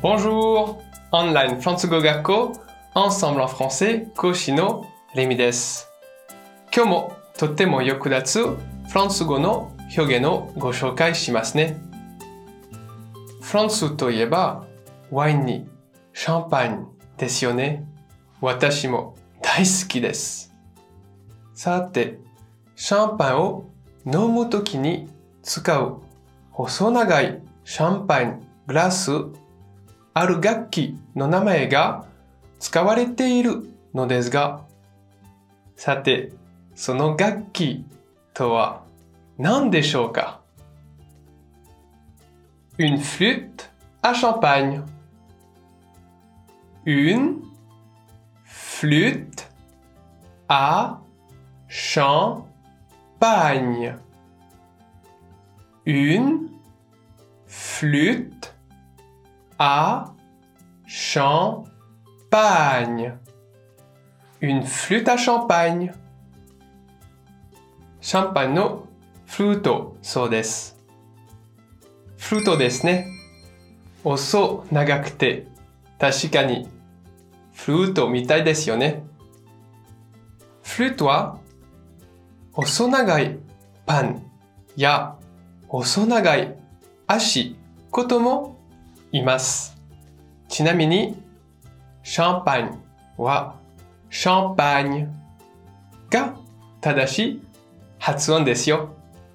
Bonjour! Online フランス語学校 Ensemble en français 講師のレミです。今日もとっても役立つフランス語の表現をご紹介しますね。フランスといえばワインにシャンパンですよね。私も大好きです。さて、シャンパンを飲むときに使う細長いシャンパングラス、ある楽器の名前が使われているのですが、さて、その楽器とは何でしょうか？ Une flûte à champagne. Une flûte à champagne. Une flûte à champagne. Une flûte à champagne. シャンパンのフルート、そうです。フルートですね。細長くて、確かにフルートみたいですよね。フルートは細長いパンや細長い足ことも言います。ちなみに、シャンパンはシャンパーニュが正しい発音ですよ。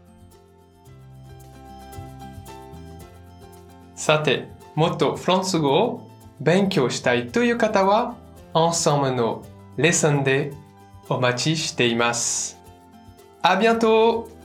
さて、もっとフランス語を勉強したいという方は、Ensembleのレッスンでお待ちしています。À bientôt!